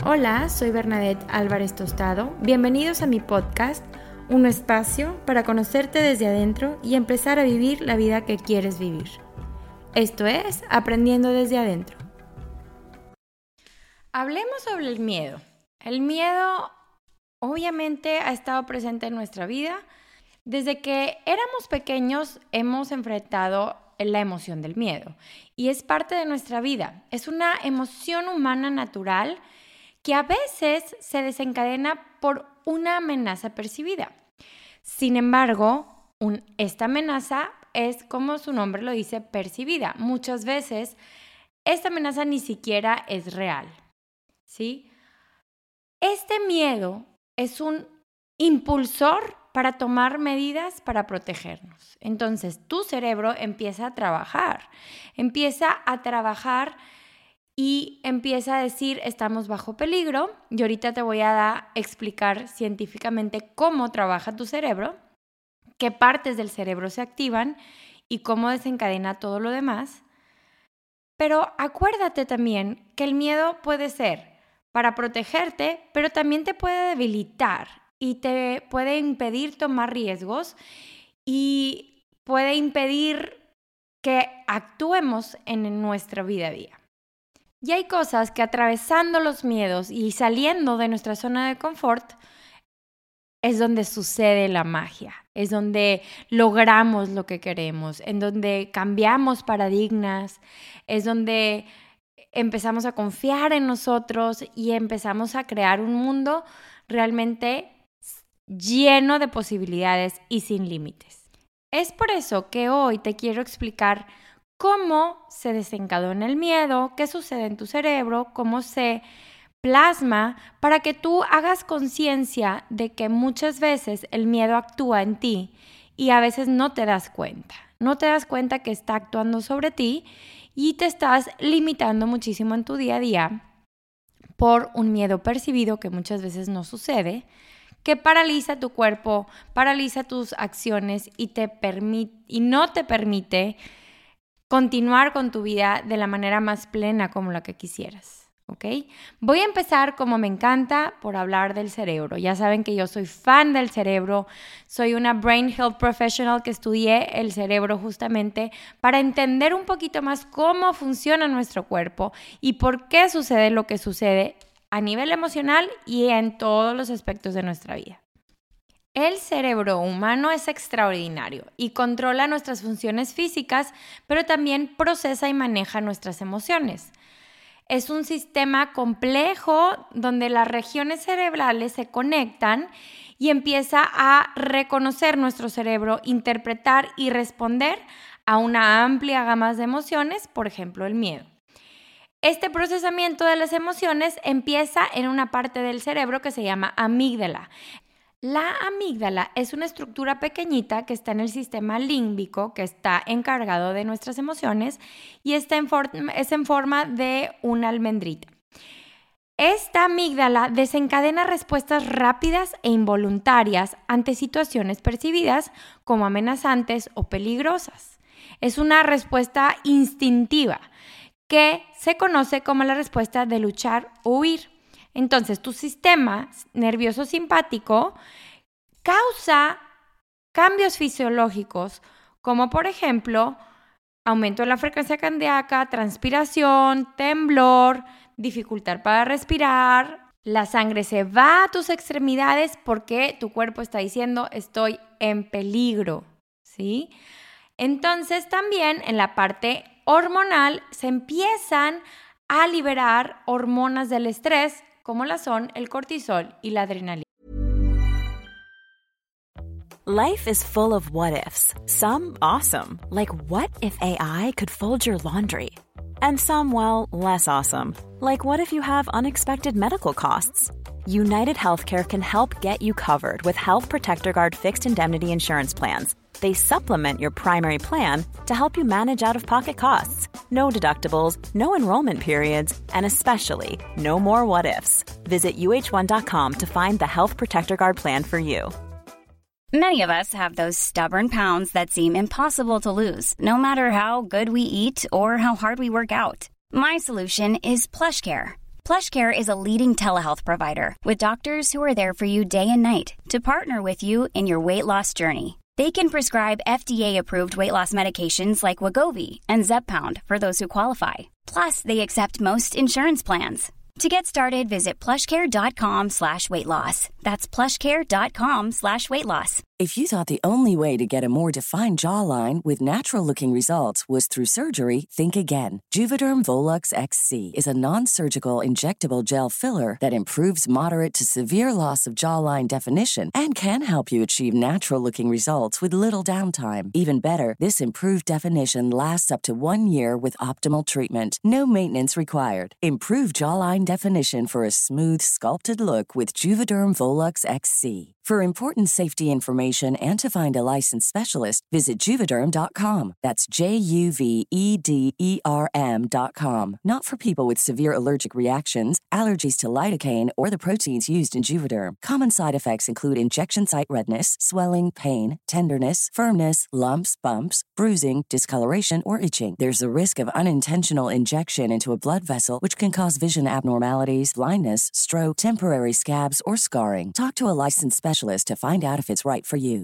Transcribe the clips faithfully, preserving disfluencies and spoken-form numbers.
Hola, soy Bernadette Álvarez Tostado. Bienvenidos a mi podcast, un espacio para conocerte desde adentro y empezar a vivir la vida que quieres vivir. Esto es Aprendiendo desde Adentro. Hablemos sobre el miedo. El miedo obviamente ha estado presente en nuestra vida. Desde que éramos pequeños hemos enfrentado la emoción del miedo y es parte de nuestra vida. Es una emoción humana natural que a veces se desencadena por una amenaza percibida. Sin embargo, un, esta amenaza es, como su nombre lo dice, percibida. Muchas veces esta amenaza ni siquiera es real, ¿sí? Este miedo es un impulsor para tomar medidas para protegernos. Entonces, tu cerebro empieza a trabajar, empieza a trabajar y empieza a decir, estamos bajo peligro. Y ahorita te voy a dar, explicar científicamente cómo trabaja tu cerebro, qué partes del cerebro se activan y cómo desencadena todo lo demás. Pero acuérdate también que el miedo puede ser para protegerte, pero también te puede debilitar y te puede impedir tomar riesgos y puede impedir que actuemos en nuestra vida a día. Y hay cosas que atravesando los miedos y saliendo de nuestra zona de confort es donde sucede la magia, es donde logramos lo que queremos, en donde cambiamos paradigmas, es donde empezamos a confiar en nosotros y empezamos a crear un mundo realmente lleno de posibilidades y sin límites. Es por eso que hoy te quiero explicar cómo se desencadena el miedo, qué sucede en tu cerebro, cómo se plasma, para que tú hagas conciencia de que muchas veces el miedo actúa en ti y a veces no te das cuenta. No te das cuenta que está actuando sobre ti y te estás limitando muchísimo en tu día a día por un miedo percibido que muchas veces no sucede, que paraliza tu cuerpo, paraliza tus acciones y, te permite, y no te permite continuar con tu vida de la manera más plena como la que quisieras, ¿ok? Voy a empezar, como me encanta, por hablar del cerebro. Ya saben que yo soy fan del cerebro, soy una Brain Health Professional que estudié el cerebro justamente para entender un poquito más cómo funciona nuestro cuerpo y por qué sucede lo que sucede a nivel emocional y en todos los aspectos de nuestra vida. El cerebro humano es extraordinario y controla nuestras funciones físicas, pero también procesa y maneja nuestras emociones. Es un sistema complejo donde las regiones cerebrales se conectan y empieza a reconocer nuestro cerebro, interpretar y responder a una amplia gama de emociones, por ejemplo, el miedo. Este procesamiento de las emociones empieza en una parte del cerebro que se llama amígdala. La amígdala es una estructura pequeñita que está en el sistema límbico, que está encargado de nuestras emociones y está en forma, es en forma de una almendrita. Esta amígdala desencadena respuestas rápidas e involuntarias ante situaciones percibidas como amenazantes o peligrosas. Es una respuesta instintiva que se conoce como la respuesta de luchar o huir. Entonces, tu sistema nervioso simpático causa cambios fisiológicos, como por ejemplo, aumento de la frecuencia cardíaca, transpiración, temblor, dificultad para respirar. La sangre se va a tus extremidades porque tu cuerpo está diciendo, estoy en peligro, ¿sí? Entonces, también en la parte hormonal se empiezan a liberar hormonas del estrés, como la son el cortisol y la adrenalina. Life is full of what-ifs. Some awesome, like what if A I could fold your laundry? And some, well, less awesome, like what if you have unexpected medical costs? United Healthcare can help get you covered with Health Protector Guard fixed indemnity insurance plans. They supplement your primary plan to help you manage out-of-pocket costs. No deductibles, no enrollment periods, and especially no more what-ifs. Visit U H one dot com to find the Health Protector Guard plan for you. Many of us have those stubborn pounds that seem impossible to lose, no matter how good we eat or how hard we work out. My solution is PlushCare. PlushCare is a leading telehealth provider with doctors who are there for you day and night to partner with you in your weight loss journey. They can prescribe F D A-approved weight loss medications like Wegovy and Zepbound for those who qualify. Plus, they accept most insurance plans. To get started, visit plushcare.com slash weight loss. That's plushcare.com slash weight loss. If you thought the only way to get a more defined jawline with natural-looking results was through surgery, think again. Juvederm Volux X C is a non-surgical injectable gel filler that improves moderate to severe loss of jawline definition and can help you achieve natural-looking results with little downtime. Even better, this improved definition lasts up to one year with optimal treatment. No maintenance required. Improve jawline definition for a smooth, sculpted look with Juvederm Volux X C. For important safety information and to find a licensed specialist, visit Juvederm dot com. That's J U V E D E R M dot com. Not for people with severe allergic reactions, allergies to lidocaine, or the proteins used in Juvederm. Common side effects include injection site redness, swelling, pain, tenderness, firmness, lumps, bumps, bruising, discoloration, or itching. There's a risk of unintentional injection into a blood vessel, which can cause vision abnormalities, blindness, stroke, temporary scabs, or scarring. Talk to a licensed specialist to find out if it's right for you.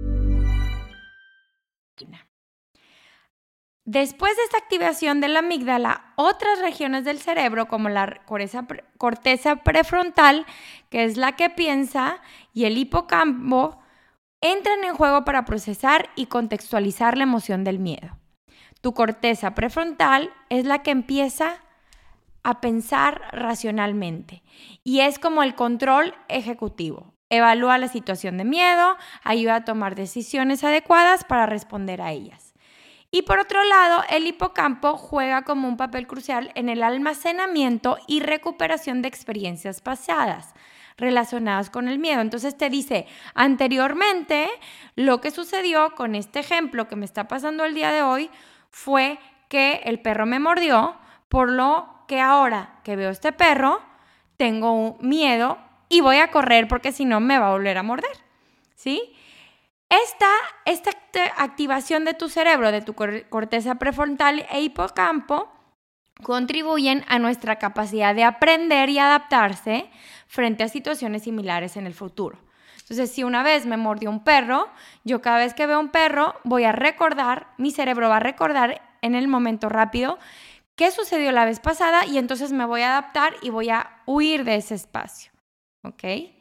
Después de esta activación de la amígdala, otras regiones del cerebro, como la corteza, corteza prefrontal, que es la que piensa, y el hipocampo, entran en juego para procesar y contextualizar la emoción del miedo. Tu corteza prefrontal es la que empieza a pensar racionalmente y es como el control ejecutivo. Evalúa la situación de miedo, ayuda a tomar decisiones adecuadas para responder a ellas. Y por otro lado, el hipocampo juega como un papel crucial en el almacenamiento y recuperación de experiencias pasadas relacionadas con el miedo. Entonces te dice, anteriormente, lo que sucedió con este ejemplo que me está pasando el día de hoy fue que el perro me mordió, por lo que ahora que veo este perro, tengo un miedo y voy a correr porque si no me va a volver a morder, ¿sí? Esta, esta activación de tu cerebro, de tu corteza prefrontal e hipocampo, contribuyen a nuestra capacidad de aprender y adaptarse frente a situaciones similares en el futuro. Entonces, si una vez me mordió un perro, yo cada vez que veo un perro voy a recordar, mi cerebro va a recordar en el momento rápido qué sucedió la vez pasada y entonces me voy a adaptar y voy a huir de ese espacio. ¿Ok?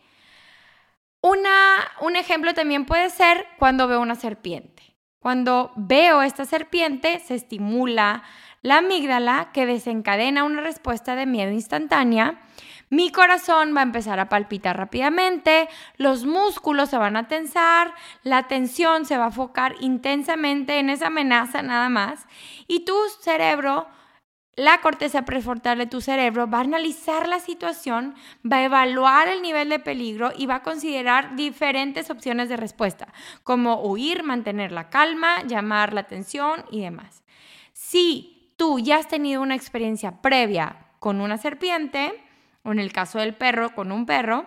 Una, un ejemplo también puede ser cuando veo una serpiente. Cuando veo esta serpiente, se estimula la amígdala que desencadena una respuesta de miedo instantánea. Mi corazón va a empezar a palpitar rápidamente, los músculos se van a tensar, la atención se va a enfocar intensamente en esa amenaza nada más y tu cerebro, la corteza prefrontal de tu cerebro va a analizar la situación, va a evaluar el nivel de peligro y va a considerar diferentes opciones de respuesta, como huir, mantener la calma, llamar la atención y demás. Si tú ya has tenido una experiencia previa con una serpiente, o en el caso del perro, con un perro,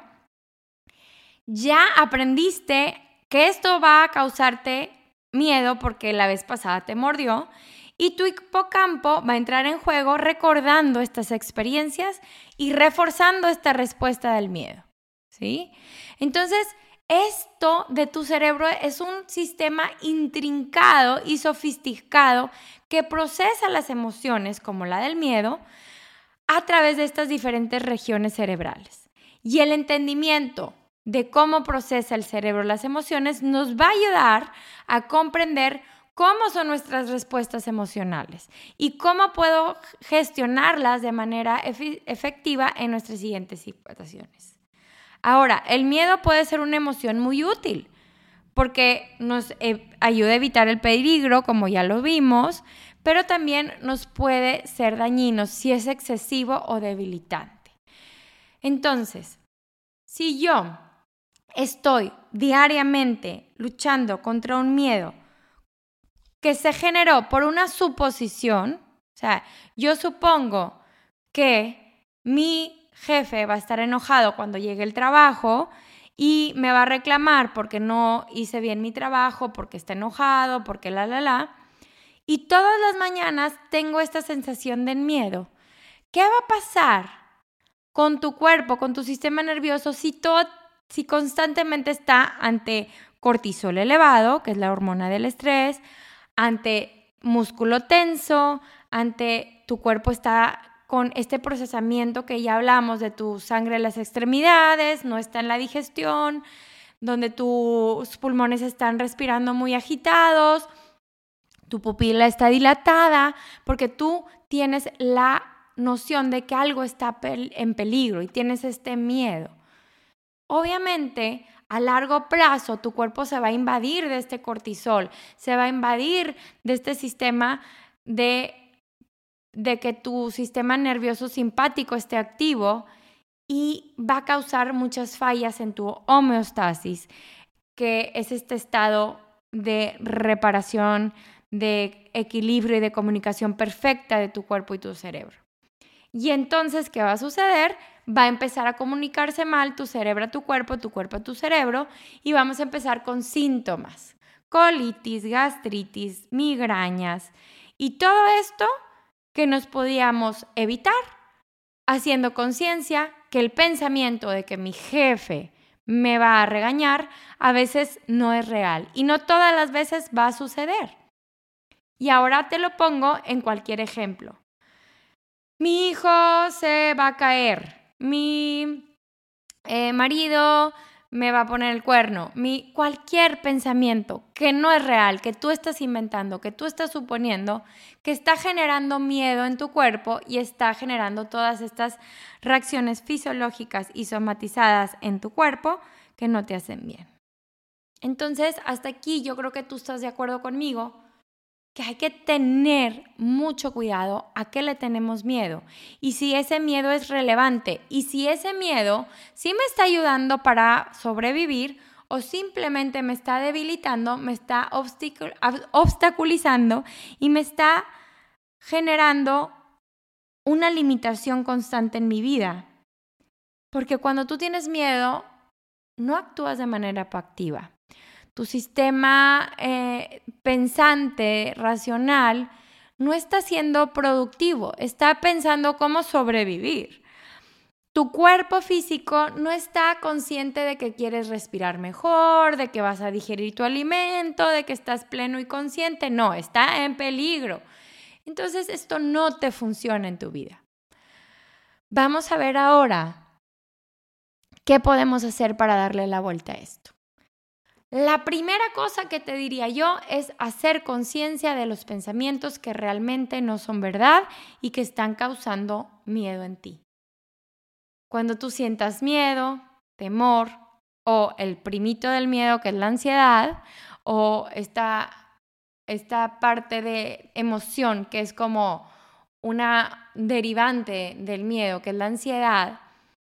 ya aprendiste que esto va a causarte miedo porque la vez pasada te mordió y tu hipocampo va a entrar en juego recordando estas experiencias y reforzando esta respuesta del miedo, ¿sí? Entonces, esto de tu cerebro es un sistema intrincado y sofisticado que procesa las emociones, como la del miedo, a través de estas diferentes regiones cerebrales. Y el entendimiento de cómo procesa el cerebro las emociones nos va a ayudar a comprender cómo son nuestras respuestas emocionales y cómo puedo gestionarlas de manera efe- efectiva en nuestras siguientes situaciones. Ahora, el miedo puede ser una emoción muy útil porque nos eh, ayuda a evitar el peligro, como ya lo vimos, pero también nos puede ser dañino si es excesivo o debilitante. Entonces, si yo estoy diariamente luchando contra un miedo que se generó por una suposición, o sea, yo supongo que mi jefe va a estar enojado cuando llegue el trabajo y me va a reclamar porque no hice bien mi trabajo, porque está enojado, porque la, la, la. Y todas las mañanas tengo esta sensación de miedo. ¿Qué va a pasar con tu cuerpo, con tu sistema nervioso, si, todo, si constantemente está ante cortisol elevado, que es la hormona del estrés, ante músculo tenso, ante tu cuerpo está con este procesamiento que ya hablamos de tu sangre en las extremidades, no está en la digestión, donde tus pulmones están respirando muy agitados, tu pupila está dilatada, porque tú tienes la noción de que algo está en peligro y tienes este miedo. Obviamente, a largo plazo, tu cuerpo se va a invadir de este cortisol, se va a invadir de este sistema de, de que tu sistema nervioso simpático esté activo y va a causar muchas fallas en tu homeostasis, que es este estado de reparación, de equilibrio y de comunicación perfecta de tu cuerpo y tu cerebro. Y entonces, ¿qué va a suceder? Va a empezar a comunicarse mal tu cerebro a tu cuerpo, tu cuerpo a tu cerebro, y vamos a empezar con síntomas, colitis, gastritis, migrañas, y todo esto que nos podíamos evitar haciendo conciencia que el pensamiento de que mi jefe me va a regañar a veces no es real y no todas las veces va a suceder. Y ahora te lo pongo en cualquier ejemplo. Mi hijo se va a caer, mi eh, marido me va a poner el cuerno, mi, cualquier pensamiento que no es real, que tú estás inventando, que tú estás suponiendo, que está generando miedo en tu cuerpo y está generando todas estas reacciones fisiológicas y somatizadas en tu cuerpo que no te hacen bien. Entonces, hasta aquí yo creo que tú estás de acuerdo conmigo que hay que tener mucho cuidado a qué le tenemos miedo y si ese miedo es relevante y si ese miedo sí me está ayudando para sobrevivir o simplemente me está debilitando, me está obstaculizando y me está generando una limitación constante en mi vida. Porque cuando tú tienes miedo, no actúas de manera proactiva. Tu sistema eh, pensante, racional, no está siendo productivo, está pensando cómo sobrevivir. Tu cuerpo físico no está consciente de que quieres respirar mejor, de que vas a digerir tu alimento, de que estás pleno y consciente. No, está en peligro. Entonces, esto no te funciona en tu vida. Vamos a ver ahora qué podemos hacer para darle la vuelta a esto. La primera cosa que te diría yo es hacer conciencia de los pensamientos que realmente no son verdad y que están causando miedo en ti. Cuando tú sientas miedo, temor o el primito del miedo que es la ansiedad o esta, esta parte de emoción que es como una derivante del miedo que es la ansiedad,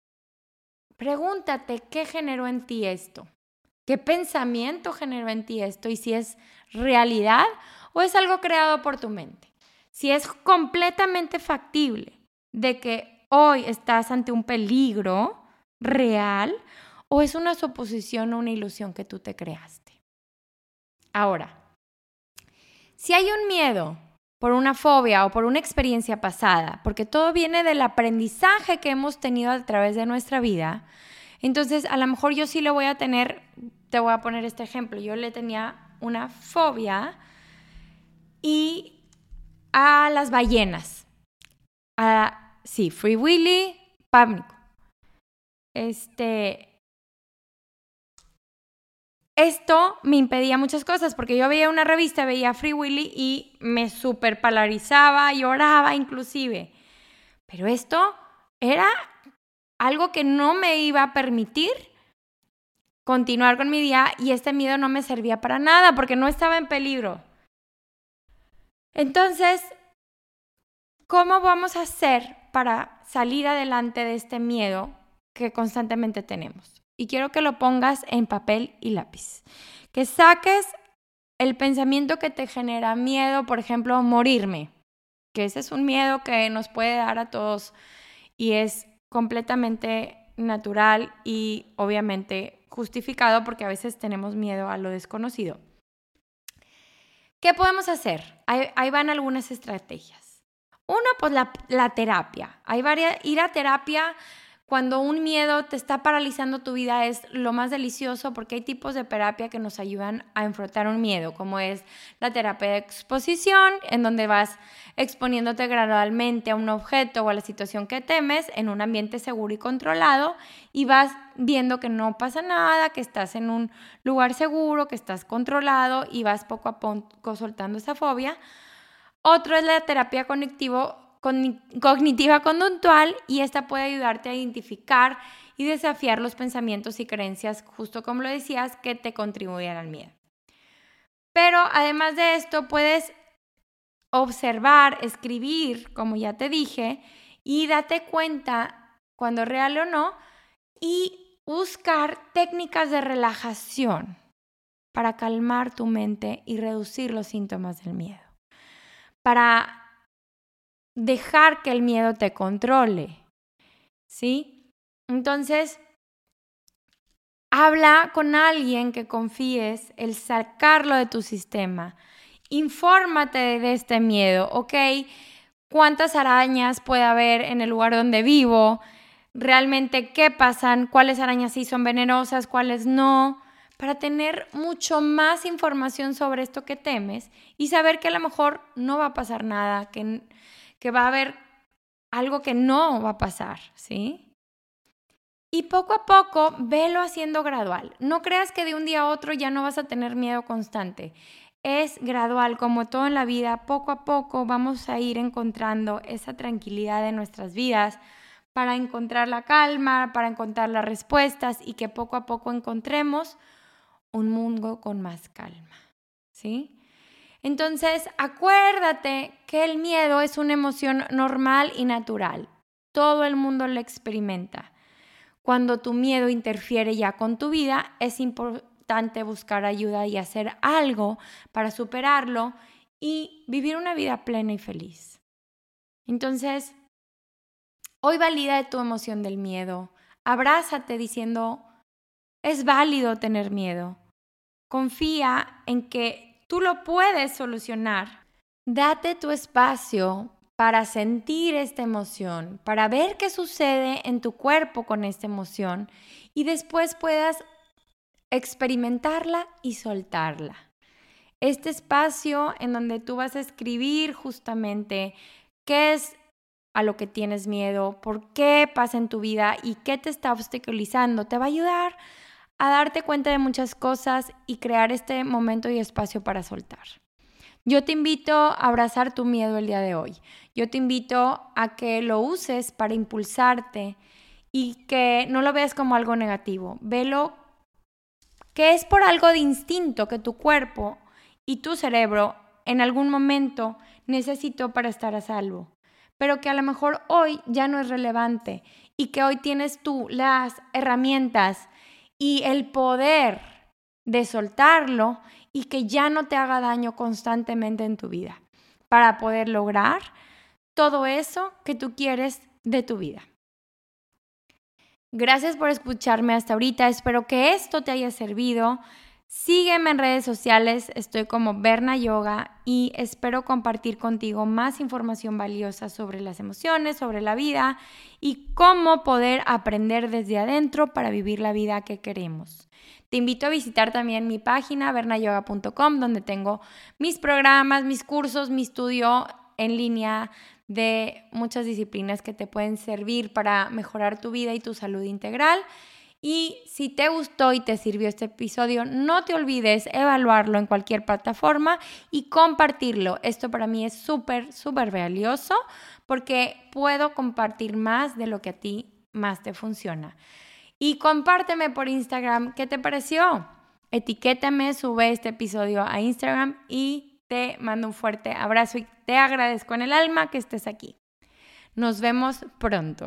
pregúntate qué generó en ti esto. ¿Qué pensamiento generó en ti esto? Y si es realidad o es algo creado por tu mente. Si es completamente factible de que hoy estás ante un peligro real o es una suposición o una ilusión que tú te creaste. Ahora, si hay un miedo por una fobia o por una experiencia pasada, porque todo viene del aprendizaje que hemos tenido a través de nuestra vida, entonces a lo mejor yo sí le voy a tener, te voy a poner este ejemplo, yo le tenía una fobia y a las ballenas, a, sí, Free Willy, pánico. Este, esto me impedía muchas cosas porque yo veía una revista, veía Free Willy y me súper polarizaba, lloraba inclusive. Pero esto era algo que no me iba a permitir continuar con mi día y este miedo no me servía para nada porque no estaba en peligro. Entonces, ¿cómo vamos a hacer para salir adelante de este miedo que constantemente tenemos? Y quiero que lo pongas en papel y lápiz. Que saques el pensamiento que te genera miedo, por ejemplo, morirme. Que ese es un miedo que nos puede dar a todos y es completamente natural y obviamente justificado porque a veces tenemos miedo a lo desconocido. ¿Qué podemos hacer? Ahí, ahí van algunas estrategias. Una, pues la, la terapia. Hay varias, ir a terapia Cuando un miedo te está paralizando tu vida es lo más delicioso porque hay tipos de terapia que nos ayudan a enfrentar un miedo, como es la terapia de exposición, en donde vas exponiéndote gradualmente a un objeto o a la situación que temes en un ambiente seguro y controlado y vas viendo que no pasa nada, que estás en un lugar seguro, que estás controlado y vas poco a poco soltando esa fobia. Otro es la terapia cognitivo cognitiva conductual y esta puede ayudarte a identificar y desafiar los pensamientos y creencias, justo como lo decías, que te contribuyen al miedo. Pero además de esto, puedes observar, escribir, como ya te dije, y date cuenta cuando es real o no, y buscar técnicas de relajación para calmar tu mente y reducir los síntomas del miedo. Para dejar que el miedo te controle, ¿sí? Entonces, habla con alguien que confíes, el sacarlo de tu sistema. Infórmate de este miedo, ¿ok? ¿Cuántas arañas puede haber en el lugar donde vivo? ¿Realmente qué pasan? ¿Cuáles arañas sí son venenosas? ¿Cuáles no? Para tener mucho más información sobre esto que temes y saber que a lo mejor no va a pasar nada, que que va a haber algo que no va a pasar, ¿sí? Y poco a poco, velo haciendo gradual. No creas que de un día a otro ya no vas a tener miedo constante. Es gradual, como todo en la vida, poco a poco vamos a ir encontrando esa tranquilidad en nuestras vidas para encontrar la calma, para encontrar las respuestas y que poco a poco encontremos un mundo con más calma, ¿sí? Entonces, acuérdate que el miedo es una emoción normal y natural. Todo el mundo lo experimenta. Cuando tu miedo interfiere ya con tu vida, es importante buscar ayuda y hacer algo para superarlo y vivir una vida plena y feliz. Entonces, hoy valida tu emoción del miedo. Abrázate diciendo, es válido tener miedo. Confía en que tú lo puedes solucionar. Date tu espacio para sentir esta emoción, para ver qué sucede en tu cuerpo con esta emoción y después puedas experimentarla y soltarla. Este espacio en donde tú vas a escribir justamente qué es a lo que tienes miedo, por qué pasa en tu vida y qué te está obstaculizando, te va a ayudar a darte cuenta de muchas cosas y crear este momento y espacio para soltar. Yo te invito a abrazar tu miedo el día de hoy. Yo te invito a que lo uses para impulsarte y que no lo veas como algo negativo. Velo que es por algo de instinto que tu cuerpo y tu cerebro en algún momento necesitó para estar a salvo, pero que a lo mejor hoy ya no es relevante y que hoy tienes tú las herramientas y el poder de soltarlo y que ya no te haga daño constantemente en tu vida para poder lograr todo eso que tú quieres de tu vida. Gracias por escucharme hasta ahorita. Espero que esto te haya servido. Sígueme en redes sociales, estoy como Berna Yoga y espero compartir contigo más información valiosa sobre las emociones, sobre la vida y cómo poder aprender desde adentro para vivir la vida que queremos. Te invito a visitar también mi página berna yoga punto com, donde tengo mis programas, mis cursos, mi estudio en línea de muchas disciplinas que te pueden servir para mejorar tu vida y tu salud integral. Y si te gustó y te sirvió este episodio, no te olvides evaluarlo en cualquier plataforma y compartirlo. Esto para mí es súper, súper valioso porque puedo compartir más de lo que a ti más te funciona. Y compárteme por Instagram qué te pareció. Etiquétame, sube este episodio a Instagram y te mando un fuerte abrazo y te agradezco en el alma que estés aquí. Nos vemos pronto.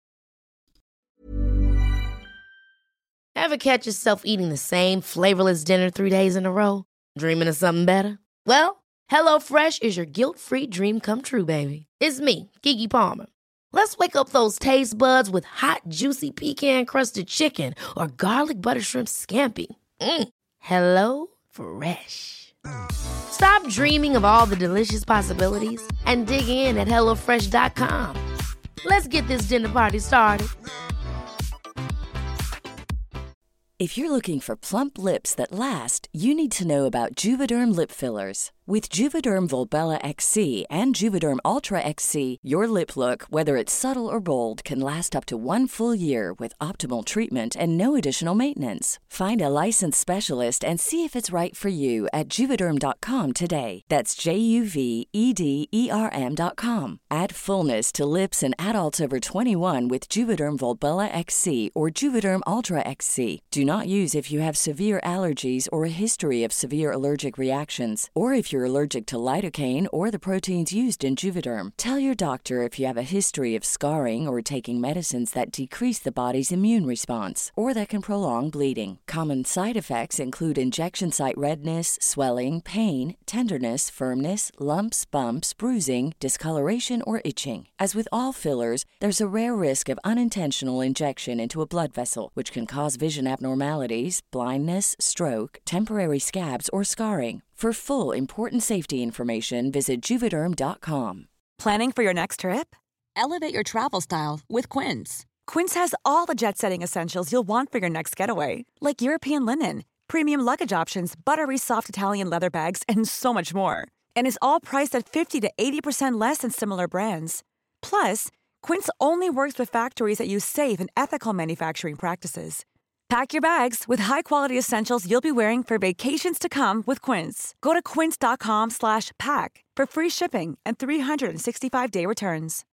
Ever catch yourself eating the same flavorless dinner three days in a row? Dreaming of something better? Well, HelloFresh is your guilt-free dream come true, baby. It's me, Keke Palmer. Let's wake up those taste buds with hot, juicy pecan-crusted chicken or garlic butter shrimp scampi. Mm. Hello Fresh. Stop dreaming of all the delicious possibilities and dig in at hello fresh dot com. Let's get this dinner party started. If you're looking for plump lips that last, you need to know about Juvederm lip fillers. With Juvederm Volbella X C and Juvederm Ultra X C, your lip look, whether it's subtle or bold, can last up to one full year with optimal treatment and no additional maintenance. Find a licensed specialist and see if it's right for you at Juvederm dot com today. That's J U V E D E R M dot com. Add fullness to lips in adults over twenty-one with Juvederm Volbella X C or Juvederm Ultra X C. Do not use if you have severe allergies or a history of severe allergic reactions, or if you're allergic to lidocaine or the proteins used in Juvederm. Tell your doctor if you have a history of scarring or taking medicines that decrease the body's immune response or that can prolong bleeding. Common side effects include injection site redness, swelling, pain, tenderness, firmness, lumps, bumps, bruising, discoloration, or itching. As with all fillers, there's a rare risk of unintentional injection into a blood vessel, which can cause vision abnormalities, blindness, stroke, temporary scabs, or scarring. For full, important safety information, visit Juvederm dot com. Planning for your next trip? Elevate your travel style with Quince. Quince has all the jet-setting essentials you'll want for your next getaway, like European linen, premium luggage options, buttery soft Italian leather bags, and so much more. And is all priced at fifty to eighty percent less than similar brands. Plus, Quince only works with factories that use safe and ethical manufacturing practices. Pack your bags with high-quality essentials you'll be wearing for vacations to come with Quince. Go to quince dot com slash pack for free shipping and three sixty-five day returns.